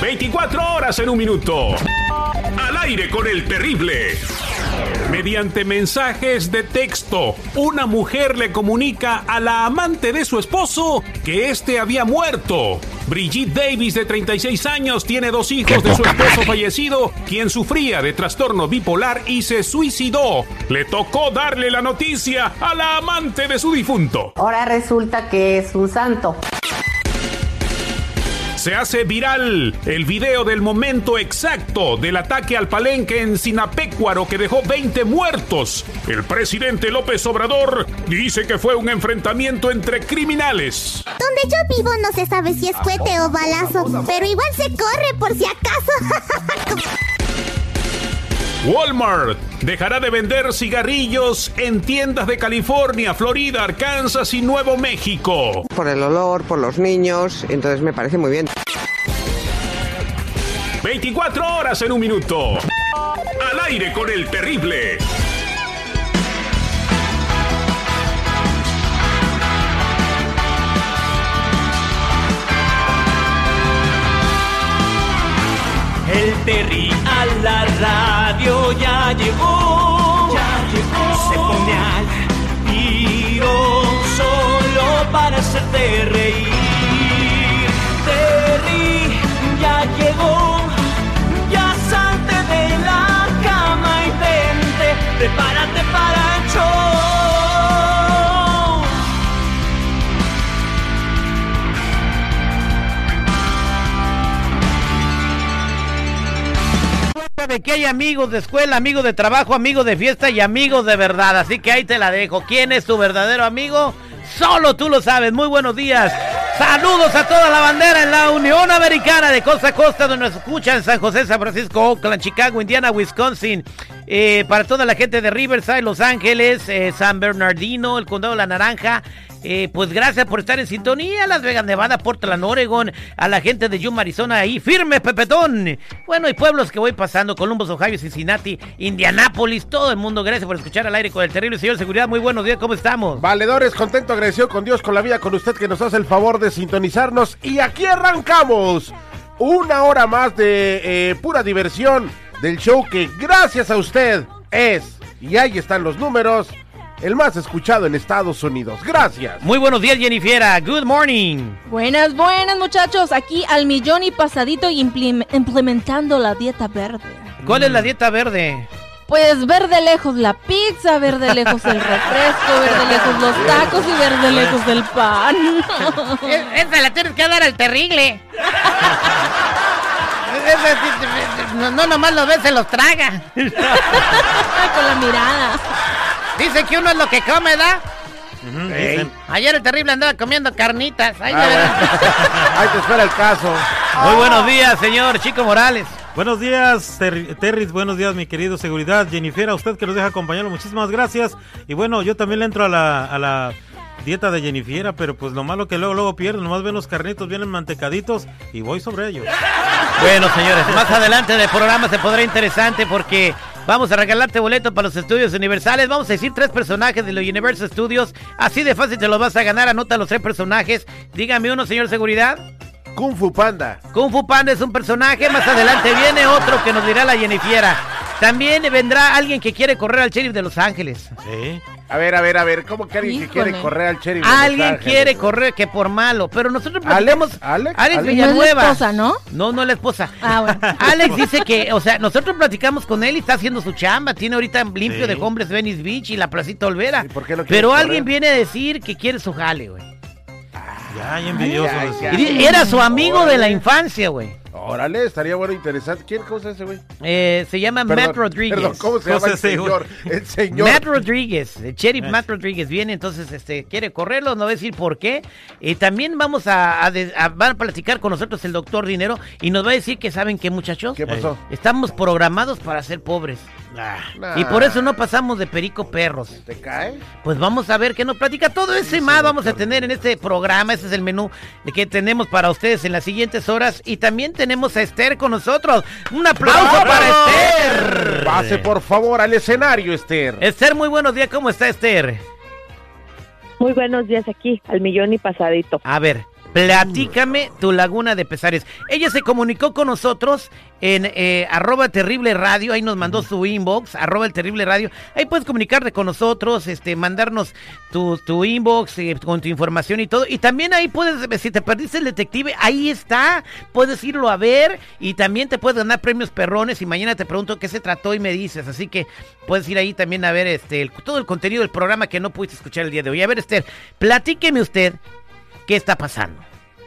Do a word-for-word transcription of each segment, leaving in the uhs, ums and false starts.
veinticuatro horas en un minuto. Al aire con el terrible. Mediante mensajes de texto, una mujer le comunica a la amante de su esposo que éste había muerto. Brigitte Davis, de treinta y seis años, tiene dos hijos de su esposo fallecido, quien sufría de trastorno bipolar y se suicidó. Le tocó darle la noticia a la amante de su difunto. Ahora resulta que es un santo. Se hace viral el video del momento exacto del ataque al palenque en Sinapecuaro que dejó veinte muertos. El presidente López Obrador dice que fue un enfrentamiento entre criminales. Donde yo vivo no se sabe si es cohete o balazo, pero igual se corre por si acaso. Walmart dejará de vender cigarrillos en tiendas de California, Florida, Arkansas y Nuevo México. Por el olor, por los niños, entonces me parece muy bien. veinticuatro horas en un minuto. Al aire con el terrible. El Terry a la radio ya llegó, ya llegó. Se pone al tiro solo para hacerte reír. Terry ya llegó, ya salte de la cama y vente, prepárate para el show. De que hay amigos de escuela, amigos de trabajo, amigos de fiesta y amigos de verdad, así que ahí te la dejo. ¿Quién es tu verdadero amigo? Solo tú lo sabes. Muy buenos días. Saludos a toda la bandera en la Unión Americana de costa a costa, donde nos escuchan San José, San Francisco, Oakland, Chicago, Indiana, Wisconsin. Eh, para toda la gente de Riverside, Los Ángeles, eh, San Bernardino, el Condado de la Naranja. Eh, pues gracias por estar en sintonía. Las Vegas, Nevada, Portland, Oregon. A la gente de Yuma, Arizona, ahí firme, Pepetón. Bueno, y pueblos que voy pasando: Columbus, Ohio, Cincinnati, Indianápolis, todo el mundo. Gracias por escuchar Al Aire con el Terrible. Señor Seguridad, muy buenos días, ¿cómo estamos? Valedores, contento, agradecido con Dios, con la vida, con usted que nos hace el favor de sintonizarnos. Y aquí arrancamos una hora más de eh, pura diversión del show que gracias a usted es, y ahí están los números, el más escuchado en Estados Unidos. Gracias. Muy buenos días, Jennifiera. Good morning. Buenas, buenas, muchachos. Aquí al millón y pasadito implem- implementando la dieta verde. ¿Cuál es la dieta verde? Pues ver de lejos la pizza, ver de lejos el refresco, ver de lejos los tacos y ver de lejos el pan. Esa la tienes que dar al terrible. No, no nomás lo ves, se los traga. Con la mirada. Dice que uno es lo que come, ¿da? Uh-huh, hey. Ayer el terrible andaba comiendo carnitas. Ahí, ah, Ahí te espera el caso. Muy oh. buenos días, señor Chico Morales. Buenos días, Ter- Terris, buenos días, mi querido Seguridad. Jennifer, a usted que nos deja acompañarlo, muchísimas gracias. Y bueno, yo también le entro a la, a la dieta de Jennifer, pero pues lo malo que luego, luego pierdo, nomás ven los carnitos, vienen mantecaditos y voy sobre ellos. Bueno, señores, más adelante del programa se podrá interesante porque vamos a regalarte boletos para los estudios universales. Vamos a decir tres personajes de los Universal Studios. Así de fácil te los vas a ganar. Anota los tres personajes. Dígame uno, señor Seguridad. Kung Fu Panda. Kung Fu Panda es un personaje. Más adelante viene otro que nos dirá la Jennifiera. También vendrá alguien que quiere correr al sheriff de Los Ángeles. Sí. A ver, a ver, a ver, ¿cómo que alguien Híjole. que quiere correr al sheriff de Alguien Los Ángeles? quiere correr que por malo, pero nosotros platicamos... ¿Alex? ¿Alex? Alex ¿Alex? Villanueva. No es la esposa, ¿no? No, no es la esposa. Ah, bueno. Alex dice que, o sea, nosotros platicamos con él y está haciendo su chamba. Tiene ahorita limpio Sí. de Hombres Venice Beach y la Placita Olvera. ¿Y por qué no quiere pero correr? alguien viene a decir que quiere su jale, güey. Ya, ya envidioso. Ay, eso. ya, ya. Era su amigo Órale. de la infancia, güey. Órale, estaría bueno, interesante. ¿Quién? ¿Cómo se llama ese güey? Eh, se llama Perdón, Matt Rodríguez. Perdón, ¿cómo se ¿Cómo llama el se llama? señor? El señor. Matt Rodríguez, el sheriff Eh. Matt Rodríguez viene, entonces este quiere correrlo, no va a decir por qué. Y también vamos a, a, de- a- van a platicar con nosotros el doctor Dinero y nos va a decir que saben qué, muchachos. ¿Qué pasó? Estamos programados para ser pobres. Nah. Y por eso no pasamos de perico perros. ¿Te cae? Pues vamos a ver qué nos platica. Todo eso y más vamos a tener en este programa. Ese es el menú que tenemos para ustedes en las siguientes horas. Y también tenemos a Esther con nosotros. Un aplauso ¡Bravo! para Esther. Pase por favor al escenario, Esther. Esther, muy buenos días. ¿Cómo está Esther? Muy buenos días aquí, al millón y pasadito. A ver, Platícame tu laguna de pesares. Ella se comunicó con nosotros en eh, arroba terrible radio, ahí nos mandó su inbox, arroba el terrible radio. Ahí puedes comunicarte con nosotros, este, mandarnos tu, tu inbox eh, con tu información y todo. Y también ahí puedes, si te perdiste el detective, ahí está, puedes irlo a ver y también te puedes ganar premios perrones y mañana te pregunto qué se trató y me dices. Así que puedes ir ahí también a ver este el, todo el contenido del programa que no pudiste escuchar el día de hoy. A ver, Esther, platíqueme usted qué está pasando.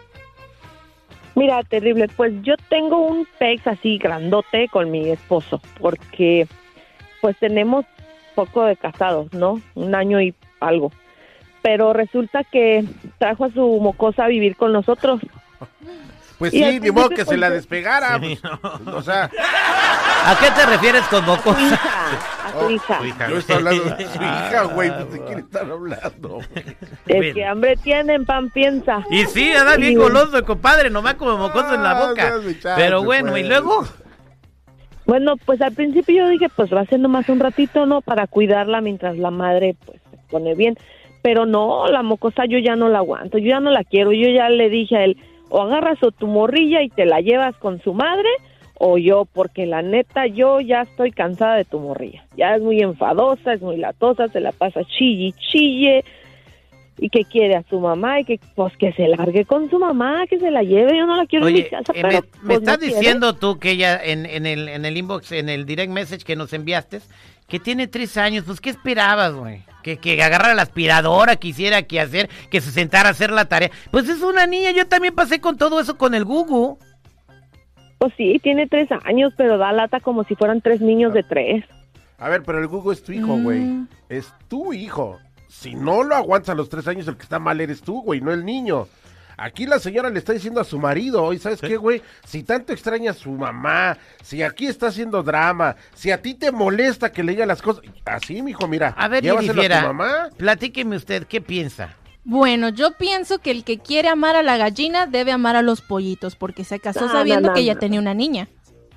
Mira, terrible, pues yo tengo un pex así grandote con mi esposo, porque pues tenemos poco de casados, ¿no? Un año y algo. Pero resulta que trajo a su mocosa a vivir con nosotros. Pues Y sí, al ni modo que principio, se la pues, despegara. Sí, pues, O sea, ¿A qué te refieres con A mocosa? su hija, a su Oh, hija. Su hija, yo estoy hablando de Ah, su hija, güey. pues, ¿De quién están hablando? El que hambre tiene, en pan piensa. Y sí, anda bien Y- goloso, compadre, nomás como mocoso en la Ah, boca. no, mi chance, Pero bueno, pues. ¿y luego? Bueno, pues al principio yo dije, pues va a ser nomás un ratito, ¿no? Para cuidarla mientras la madre, pues, se pone bien. Pero no, la mocosa yo ya no la aguanto, yo ya no la quiero. Yo ya le dije a él, o agarras a tu morrilla y te la llevas con su madre, o yo, porque la neta, yo ya estoy cansada de tu morrilla. Ya es muy enfadosa, es muy latosa, se la pasa chille, chille, y que quiere a su mamá, y que, pues, que se largue con su mamá, que se la lleve. Yo no la quiero en mi Oye, casa, eh, pero, me, pues, me estás no quiere. diciendo tú que ella en, en, el, en el inbox, en el direct message que nos enviaste, que tiene tres años, pues ¿qué esperabas, güey? Que, que agarrara la aspiradora, que hiciera que hacer, que se sentara a hacer la tarea. Pues es una niña, yo también pasé con todo eso con el Gugu. Pues sí, tiene tres años, pero da lata como si fueran tres niños de tres. A ver, pero el Google es tu hijo, güey. Mm. Es tu hijo. Si no lo aguantas a los tres años, el que está mal eres tú, güey, no el niño. Aquí la señora le está diciendo a su marido, ¿y sabes qué, güey? Si tanto extraña a su mamá, si aquí está haciendo drama, si a ti te molesta que le diga las cosas, así, mijo, mira, A ver, llévaselo a tu Jennifer, mamá. platíqueme usted, ¿qué piensa? Bueno, yo pienso que el que quiere amar a la gallina debe amar a los pollitos, porque se casó No, sabiendo no, no, que ella no. tenía una niña.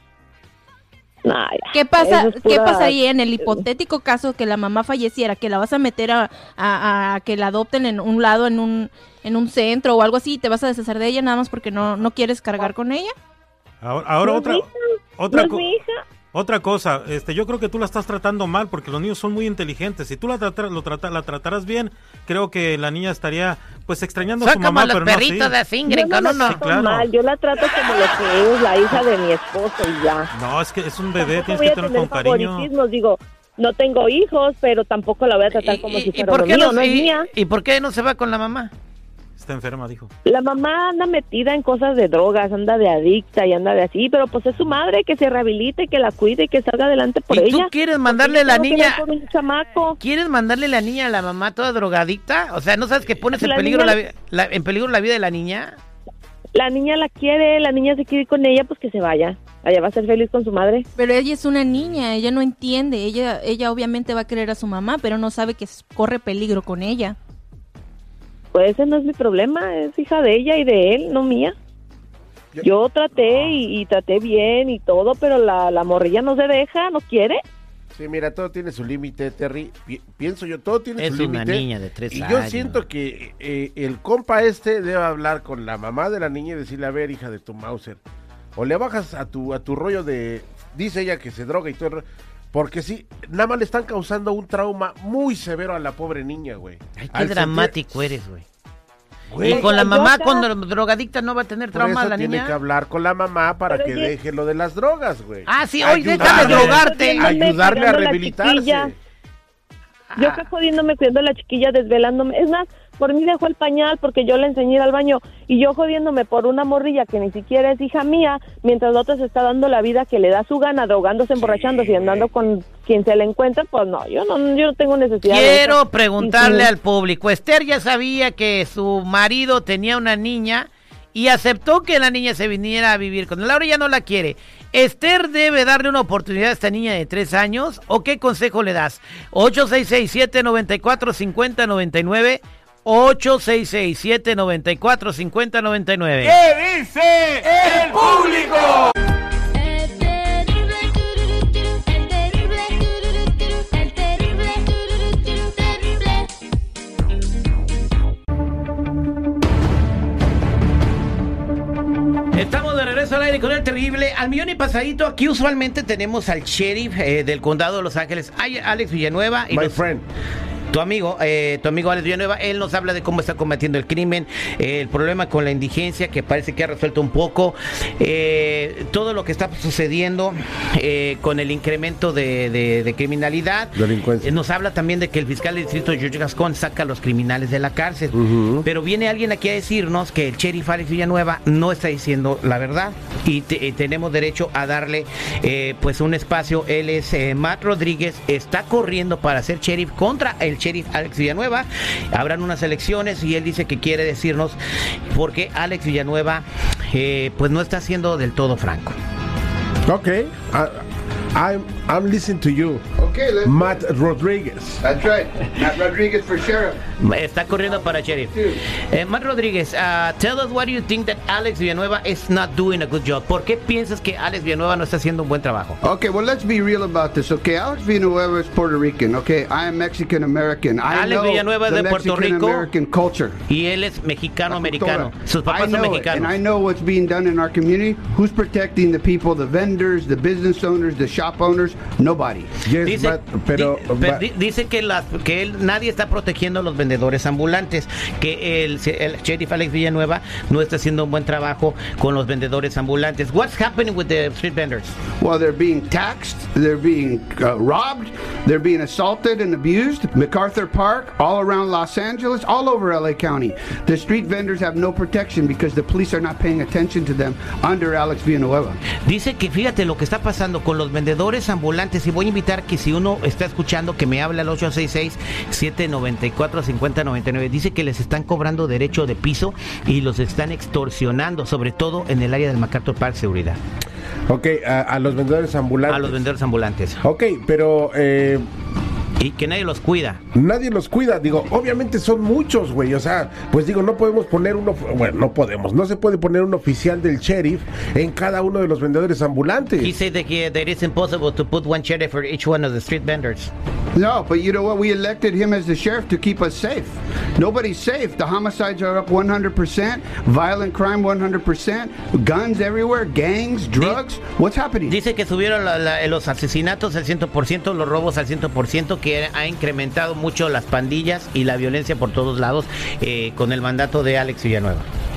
Nah, ya, ¿Qué pasa, eso es ¿qué pura- pasaría en el hipotético caso que la mamá falleciera? ¿Que la vas a meter a, a- a que la adopten en un lado, en un, en un centro o algo así, y te vas a deshacer de ella nada más porque no, no quieres cargar con ella? Ahora, ahora No es otra, mi hija, otra, no es co- mi hija. otra cosa, este, yo creo que tú la estás tratando mal porque los niños son muy inteligentes. Si tú la, tratar, lo trata, la trataras bien, creo que la niña estaría pues extrañando a Son su como mamá, los pero no perritos así. de Singre Yo no con la uno. trato claro. mal, yo la trato como lo que es la hija de mi esposo y ya. No, es que es un bebé, Tampoco tienes voy que a tener tener con cariño. favoritismos, digo, no tengo hijos, pero tampoco la voy a tratar como si fuera uno qué mío, no, no es y- mía. ¿Y por qué no se va con la mamá? Está enferma, dijo. La mamá anda metida en cosas de drogas, anda de adicta y anda de así, pero pues es su madre, que se rehabilite, que la cuide y que salga adelante por ¿Y ella. tú quieres Porque mandarle yo la tengo que niña- ver por un chamaco. ¿Quieres mandarle la niña a la mamá toda drogadicta? O sea, ¿no sabes que pones en La peligro niña- la, vi- la- en peligro la vida de la niña? La niña la quiere, la niña se quiere ir con ella, pues que se vaya. Allá va a ser feliz con su madre. Pero ella es una niña, ella no entiende, ella, ella obviamente va a querer a su mamá, pero no sabe que s- corre peligro con ella. Pues ese no es mi problema, es hija de ella y de él, no mía. Yo- Yo traté y, y traté bien y todo, pero la, la morrilla no se deja, no quiere. Sí, mira, todo tiene su límite, Terry. Pi- pienso yo, todo tiene Es su una límite. niña de tres Y años. yo siento que eh, el compa este debe hablar con la mamá de la niña y decirle, a ver, hija de tu Mauser, o le bajas a tu a tu rollo de, dice ella que se droga y todo el ro- porque sí, nada más le están causando un trauma muy severo a la pobre niña, güey. Ay, qué Al sentir- dramático eres, güey. Güey, Y con la yo mamá, acá- con la drogadicta, ¿no va a tener por trauma eso la tiene niña? que hablar con la mamá para Pero que oye- deje lo de las drogas, güey. Ah, sí, oye, deja de Ayudarle, drogarte. Viéndome ayudarle a cuidando a la rehabilitarse. chiquilla. Yo acá jodiéndome, cuidando a la chiquilla, desvelándome. Es más, por mí dejó el pañal porque yo le enseñé a ir al baño. Y yo jodiéndome por una morrilla que ni siquiera es hija mía, mientras la otra se está dando la vida que le da su gana, drogándose, emborrachándose y andando con quien se le encuentra. Pues no, yo no, yo no tengo necesidad de Quiero eso. preguntarle Y sí. al público. Esther ya sabía que su marido tenía una niña y aceptó que la niña se viniera a vivir con él. Ahora ya no la quiere. ¿Esther debe darle una oportunidad a esta niña de tres años? ¿O qué consejo le das? ocho seis seis, siete nueve cuatro, cinco cero nueve nueve ocho seis seis, siete nueve cuatro, cinco cero nueve nueve. ¿Qué dice el público? El terrible, el terrible, el terrible, terrible. Estamos de regreso al aire con el terrible al millón y pasadito. Aquí usualmente tenemos al sheriff eh, del condado de Los Ángeles, Alex Villanueva. Y My los... friend. Tu amigo, eh, tu amigo Alex Villanueva, él nos habla de cómo está combatiendo el crimen, eh, el problema con la indigencia, que parece que ha resuelto un poco, eh, todo lo que está sucediendo eh, con el incremento de, de, de criminalidad. Delincuencia. Eh, nos habla también de que el fiscal del distrito George Gascon saca a los criminales de la cárcel. Uh-huh. Pero viene alguien aquí a decirnos que el sheriff Alex Villanueva no está diciendo la verdad y te, eh, tenemos derecho a darle eh, pues un espacio. Él es eh, Matt Rodríguez, está corriendo para ser sheriff contra el sheriff Alex Villanueva. Habrán unas elecciones y él dice que quiere decirnos por qué Alex Villanueva eh, pues no está siendo del todo franco. Okay, I, I'm I'm listening to you. Okay, let's Matt Rodríguez. That's right, Matt Rodríguez for sheriff. Está corriendo para sheriff. Eh, Matt Rodríguez, uh, tell us why do you think that Alex Villanueva is not doing a good job. ¿Por qué piensas que Alex Villanueva no está haciendo un buen trabajo? Okay, well, let's be real about this. Okay, Alex Villanueva is Puerto Rican. Okay, I am Mexican American. I Alex know Villanueva es the de Puerto Mexican Rico American culture. Y él es mexicano americano. Sus papás I know son it, mexicanos. and I know what's being done in our community. Who's protecting the people, the vendors, the business owners, the shop owners? Nobody. Yes, Dice, but, pero, di, pero but, di, dice que, las, que él, nadie está protegiendo a los vendedores ambulantes, que el, el sheriff Alex Villanueva no está haciendo un buen trabajo con los vendedores ambulantes. What's happening with the street vendors? Well, they're being taxed, they're being uh, robbed, they're being assaulted and abused. MacArthur Park, all around Los Angeles, all over L A County. The street vendors have no protection because the police are not paying attention to them under Alex Villanueva. Dice que fíjate lo que está pasando con los vendedores ambulantes, y voy a invitar que si uno está escuchando que me hable al ocho seis seis, siete nueve cuatro, cinco cero nueve nueve. Dice que les están cobrando derecho de piso y los están extorsionando, sobre todo en el área del MacArthur Park Seguridad. Ok, a, a los vendedores ambulantes. A los vendedores ambulantes. Ok, pero... Eh... Y que nadie los cuida. Nadie los cuida, digo, obviamente son muchos, güey, o sea, pues digo, no podemos poner uno, bueno, no podemos, no se puede poner un oficial del sheriff en cada uno de los vendedores ambulantes. He said that, he, that it's impossible to put one sheriff for each one of the street vendors. No, but you know what? We elected him as the sheriff to keep us safe. Nobody's safe. The homicides are up one hundred percent, violent crime one hundred percent, guns everywhere, gangs, drugs. What's happening? Dice que subieron la, la, los asesinatos al cien por ciento, los robos al cien por ciento, que ha incrementado mucho las pandillas y la violencia por todos lados eh, con el mandato de Alex Villanueva.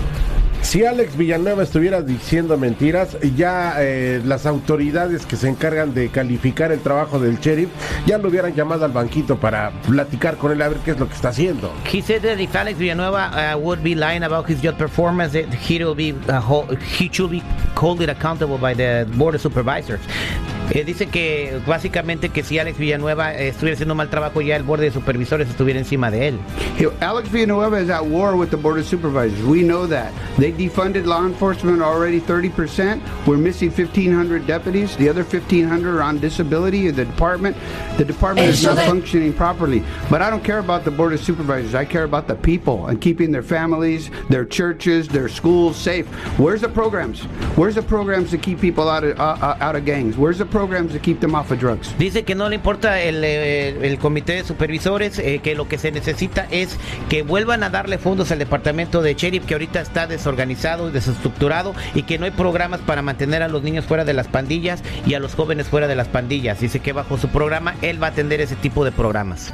Si Alex Villanueva estuviera diciendo mentiras, ya eh, las autoridades que se encargan de calificar el trabajo del sheriff ya lo hubieran llamado al banquito para platicar con él a ver qué es lo que está haciendo. He said that if Alex Villanueva uh, would be lying about his job performance, that he will be uh, hold, he should be called accountable by the board of supervisors. Eh, dice que básicamente que si Alex Villanueva eh, estuviera haciendo un mal trabajo, ya el borde de supervisores estuviera encima de él. Alex Villanueva is at war with the board of supervisors. We know that. They defunded law enforcement already thirty percent. We're missing fifteen hundred deputies. The other fifteen hundred are on disability in the department. The department is not functioning properly. But I don't care about the board of supervisors. I care about the people and keeping their families, their churches, their schools safe. Where's the programs? Where's the programs to keep people out of uh, out of gangs? Where's the programs to keep them off of drugs? Dice que no le importa el, el, el comité de supervisores, eh, que lo que se necesita es que vuelvan a darle fondos al departamento de sheriff, que ahorita está desorganizado y desestructurado, y que no hay programas para mantener a los niños fuera de las pandillas y a los jóvenes fuera de las pandillas. Dice que bajo su programa él va a atender ese tipo de programas.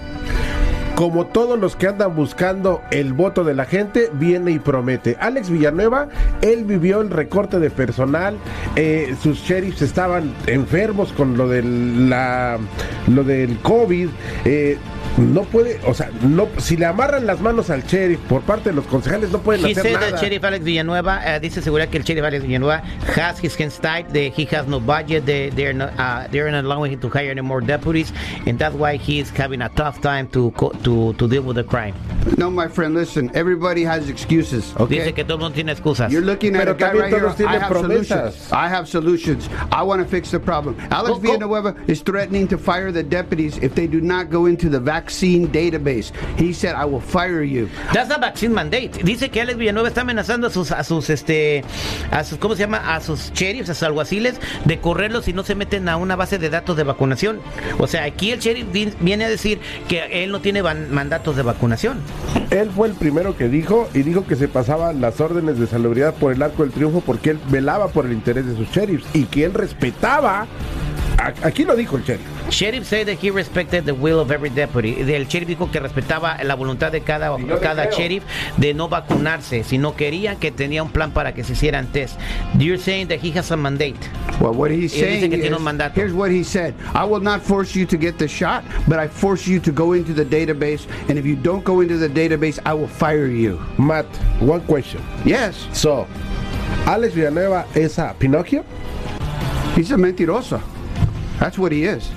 Como todos los que andan buscando el voto de la gente, viene y promete. Alex Villanueva, él vivió el recorte de personal, eh, sus sheriffs estaban enfermos con lo del, la, lo del COVID, eh, no puede, o sea, no, si le amarran las manos al sheriff por parte de los concejales, no pueden He hacer said nada. That Sheriff Alex Villanueva, uh, dice seguridad que el Sheriff Alex Villanueva has his hands tied, that he has no budget, they, they're not, uh, they're not allowing him to hire any more deputies, and that's why he is having a tough time to to to deal with the crime. No, my friend, listen, everybody has excuses, okay? Dice que todo el mundo tiene excusas. You're looking at Pero a guy también right here. todos tienen I have promesas. solutions. I have solutions. I want to fix the problem. Alex Go- go- Villanueva is threatening to fire the deputies if they do not go into the vaccine database. He said, I will fire you. That's a vaccine mandate. Dice que Alex Villanueva está amenazando a sus, a sus, este, a sus, ¿cómo se llama? A sus sheriffs, a sus alguaciles, de correrlos si no se meten a una base de datos de vacunación. O sea, aquí el sheriff vi- viene a decir que él no tiene van- mandatos de vacunación. Él fue el primero que dijo, y dijo que se pasaba las órdenes de salubridad por el Arco del Triunfo porque él velaba por el interés de sus sheriffs y que él respetaba. Aquí lo dijo el sheriff. Sheriff said that he respected the will of every deputy. El sheriff dijo que respetaba la voluntad de cada, cada sheriff de no vacunarse. Si no quería, que tenía un plan para que se hicieran test. You're saying that he has a mandate. Well, what he's saying is, mandato. Here's what he said. I will not force you to get the shot, but I force you to go into the database, and if you don't go into the database, I will fire you. Matt, one question. Yes. So, Alex Villanueva es a Pinocchio? He's a mentiroso. That's what he is.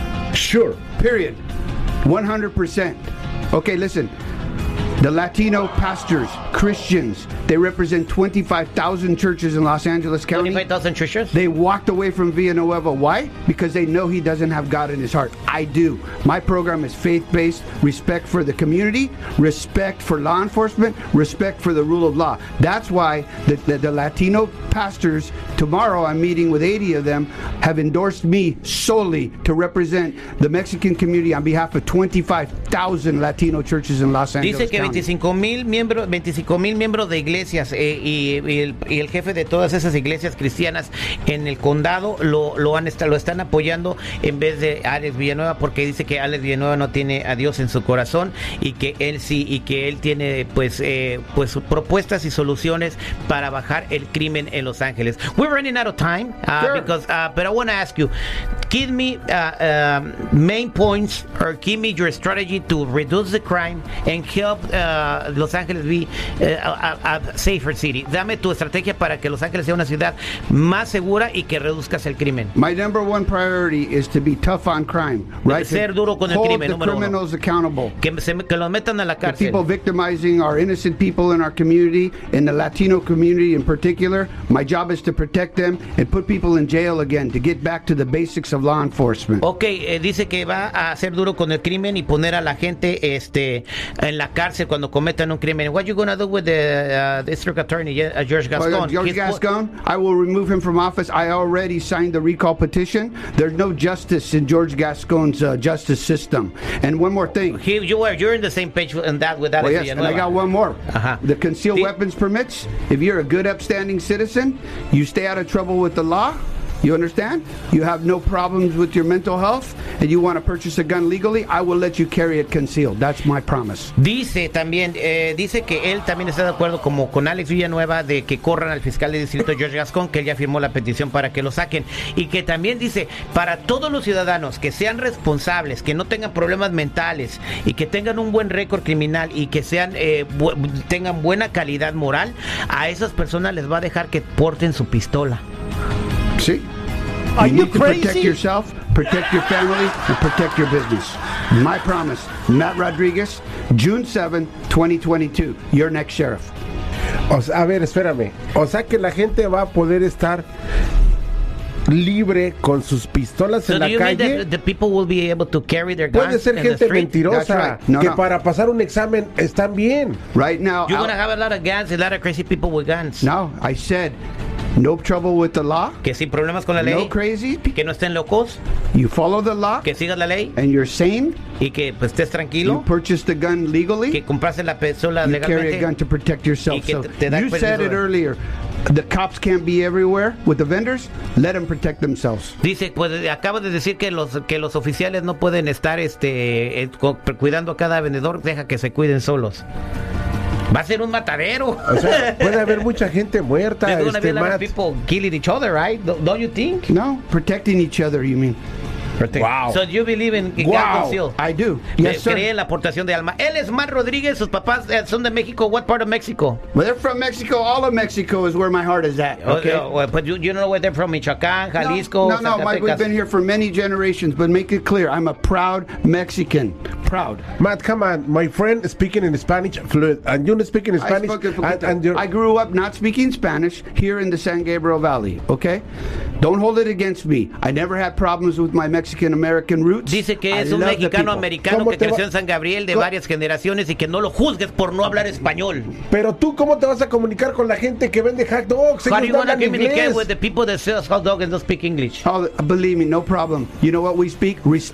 Sure. Period. one hundred percent. Okay, listen. The Latino pastors, Christians, they represent twenty-five thousand churches in Los Angeles County. twenty-five thousand churches? They walked away from Villanueva. Why? Because they know he doesn't have God in his heart. I do. My program is faith-based, respect for the community, respect for law enforcement, respect for the rule of law. That's why the, the, the Latino pastors, tomorrow I'm meeting with eighty of them, have endorsed me solely to represent the Mexican community on behalf of twenty-five thousand Latino churches in Los Angeles Dice que County. veinticinco mil miembros, veinticinco mil miembros de iglesias eh, y, y, el, y el jefe de todas esas iglesias cristianas en el condado lo, lo, han, lo están apoyando en vez de Alex Villanueva, porque dice que Alex Villanueva no tiene a Dios en su corazón y que él sí, y que él tiene pues, eh, pues propuestas y soluciones para bajar el crimen en Los Ángeles. We're running out of time, uh, Sure. because, uh, but I want to ask you, give me uh, um, main points or give me your strategy to reduce the crime and help uh, Los Ángeles be uh, a, a safer city. Dame tu estrategia para que Los Ángeles sea una ciudad más segura y que reduzcas el crimen. My number one priority is to be tough on crime, right? Ser duro con el Hold crimen, the número criminals uno. accountable. Que, se, que los metan a la The cárcel. people victimizing our innocent people in our community, in the Latino community in particular, my job is to protect them and put people in jail again, to get back to the basics of law enforcement. Ok, eh, dice que va a ser duro con el crimen y poner a la gente este, en la cárcel cuando cometan un crimen. What you gonna do with the uh, district attorney, uh, George Gascon? Well, George He's, Gascon, I will remove him from office. I already signed the recall petition. There's no justice in George Gascon's uh, justice system. And one more thing. He, you are, you're in the same page in that with Alex Well, yes, and I Villanueva. got one more. Ajá. The concealed The- weapons permits. If you're a good, upstanding citizen, you stay out of trouble with the law. You understand? You have no problems with your mental health, and you want to purchase a gun legally, I will let you carry it concealed. That's my promise. Dice también, eh, dice que él también está de acuerdo como con Alex Villanueva de que corran al fiscal de distrito George Gascon, que él ya firmó la petición para que lo saquen, y que también dice, para todos los ciudadanos que sean responsables, que no tengan problemas mentales y que tengan un buen récord criminal y que sean eh, bu- tengan buena calidad moral, a esas personas les va a dejar que porten su pistola. See? Are you you need to protect crazy? yourself, protect your family, and protect your business. My promise. Matt Rodriguez, June seventh, twenty twenty-two. Your next sheriff. O sea, a ver, espérame. O sea que la gente va a poder estar libre con sus pistolas So en do la you mean calle. that the people will be able to carry their guns Puede ser in the gente street? mentirosa That's right. No, que no. para pasar un examen están bien. Right now, You're out- gonna have a lot of guns, a lot of crazy people with guns. no, I said no trouble with the law. Que sin problemas con la ley, No crazy. que no estén locos, You follow the law, que sigas la ley and you're sane. y que pues estés You tranquilo, purchase the gun legally. que compraste la pistola You carry a gun legalmente. to protect yourself. Y que So te- te da you said permiso it de- earlier. The cops can't be everywhere with the vendors. Let them protect themselves. Dice, pues acaba de decir que los que los oficiales no pueden estar este eh, cu- cuidando a cada vendedor, deja que se cuiden solos. Va a ser un matadero. O sea, puede haber mucha gente muerta. There's gonna be Este, a lot of Matt. people killing each other, right? Don't don't you think? No, protecting each other, you mean? Wow. So you believe in in gun Wow. conceal? I do. Me- Yes, sir. Cree en la aportación de alma. Él es Matt Rodríguez, sus papás eh, son de México. What part of Mexico? Well, they're from Mexico. All of Mexico is where my heart is at. Okay. Oh, oh, but you, you know where they're from? Michoacán, Jalisco, No, no, Mike, we've Zacatecas. been here for many generations, but make it clear, I'm a proud Mexican. Proud. Matt, come on. My friend speaking in Spanish fluent, and you speak in I, Spanish. spoke a and, poquito. and you're- I grew up not speaking Spanish here in the San Gabriel Valley, okay? Don't hold it against me. I never had problems with my Mexican-American roots. Dice que I es un love the mexicano people. americano ¿Cómo que te va- creció en San Gabriel de ¿Cómo? varias generaciones y que no lo juzgues por no hablar español. Pero tú, ¿cómo te vas a comunicar con la gente que vende hot dogs? How do Ellos you no want to hablan communicate inglés. with the people that sell hot dog and don't speak English? Oh, believe me, no problem. You know what we speak? Respect.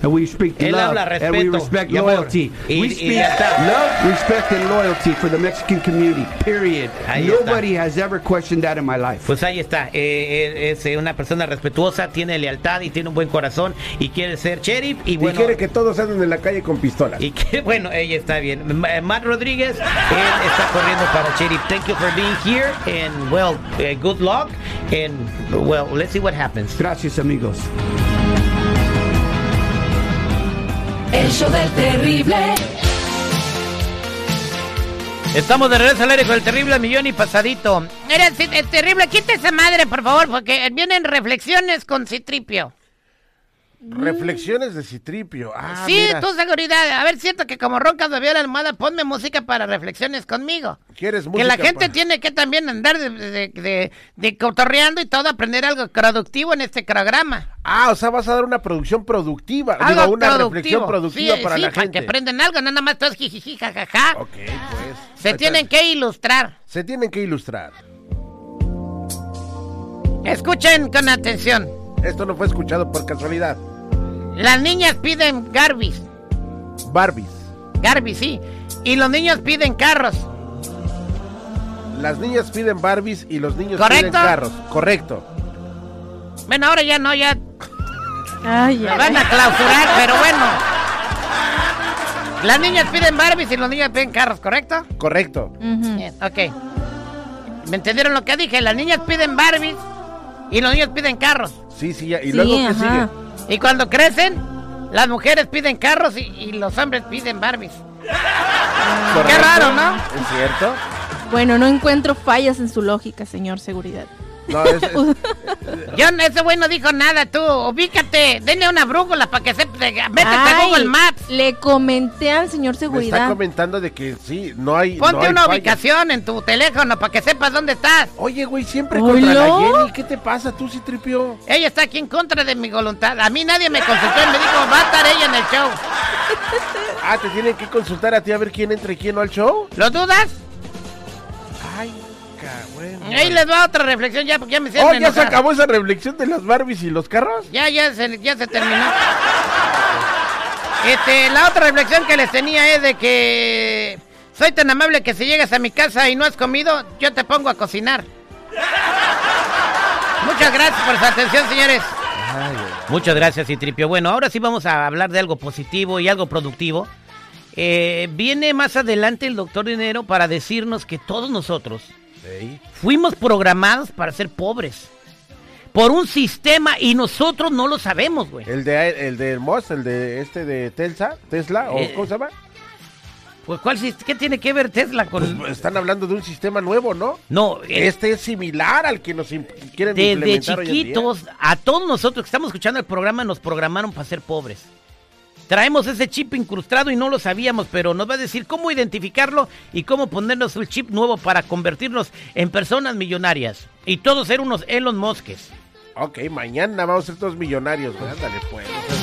and we speak Él love, habla and we respeto respect y amor. loyalty. Y- we y speak ya está. love, respect, and loyalty for the Mexican community, period. Ahí Nobody has ever questioned that in my life. Pues ahí está, eh, es eh, una persona respetuosa, tiene lealtad y tiene un buen corazón y quiere ser sheriff y Y bueno... quiere que todos anden en la calle con pistolas. Y que bueno, ella está bien. M- Matt Rodríguez, él está corriendo para sheriff. Thank you for being here and well, uh, good luck and well, let's see what happens. Gracias, amigos. El show del terrible. Estamos de regreso al aire con el terrible millón y pasadito. Mira, sí, es terrible, quita esa madre, por favor, porque vienen reflexiones con Citripio. Reflexiones de Citripio. Ah, sí, mira. tu seguridad. A ver, siento que como roncas me veo la almohada, ponme música para reflexiones conmigo. ¿Quieres Que música la gente pa- tiene que también andar de, de, de, de cotorreando y todo, aprender algo productivo en este programa. Ah, o sea, vas a dar una producción productiva. Algo Digo, una productivo. reflexión productiva Sí, para sí, la para gente. que aprendan algo, no nada más todos jijiji, jajaja. Ok, pues. Se Ahí tienen está. que ilustrar. Se tienen que ilustrar. Escuchen con atención. Esto no fue escuchado por casualidad. Las niñas piden Garbies. Barbies. Garbies, sí. Y los niños piden carros. Las niñas piden Barbies y los niños ¿Correcto? piden carros. Correcto. Bueno, ahora ya no, ya Ay, me ay, van a clausurar, pero bueno. Las niñas piden Barbies y los niños piden carros, ¿correcto? Correcto. Ujú. Bien, ok. ¿Me entendieron lo que dije? Las niñas piden Barbies y los niños piden carros. Sí, sí, ya. Y Sí, luego, ¿qué ajá. sigue? Y cuando crecen, las mujeres piden carros y, y los hombres piden Barbies. Correcto. raro, ¿no? ¿Es cierto? Bueno, no encuentro fallas en su lógica, señor seguridad. No, es, es- Yo, ese güey no dijo nada, tú. Ubícate, denle una brújula para que se... Métete a Ay, Google Maps. Le comenté al señor me está seguridad. comentando de que sí, no hay. Ponte no hay una falla. ubicación en tu teléfono para que sepas dónde estás. Oye, güey, siempre ¿Hola? contra la Jenny. ¿Qué te pasa tú, Citripio? Ella está aquí en contra de mi voluntad. A mí nadie me consultó y me dijo, va a estar ella en el show. Ah, te tienen que consultar a ti a ver quién entra y quién no al show. ¿Lo dudas? Ay, cabrón. Ahí les va otra reflexión ya, porque ya me siento Oh, ya se enojar. acabó esa reflexión de las Barbies y los carros. Ya, ya se, ya se terminó. Este, la otra reflexión que les tenía es de que soy tan amable que si llegas a mi casa y no has comido, yo te pongo a cocinar. Muchas gracias por su atención, señores. Muchas gracias, Citripio. Bueno, ahora sí vamos a hablar de algo positivo y algo productivo. Eh, viene más adelante el doctor Dinero para decirnos que todos nosotros Sí. fuimos programados para ser pobres por un sistema y nosotros no lo sabemos, güey. El de el de Moss, el de este de Tesla, Tesla o Eh, ¿cómo se llama? Pues, ¿cuál, sis- ¿qué tiene que ver Tesla con...? Pues, están hablando de un sistema nuevo, ¿no? No, eh, Este es similar al que nos imp- quieren desde implementar hoy en día. chiquitos, a todos nosotros que estamos escuchando el programa nos programaron para ser pobres. Traemos ese chip incrustado y no lo sabíamos, pero nos va a decir cómo identificarlo y cómo ponernos un chip nuevo para convertirnos en personas millonarias. Y todos ser unos Elon Muskes. Ok, mañana vamos a ser todos millonarios, güey. Ándale, pues.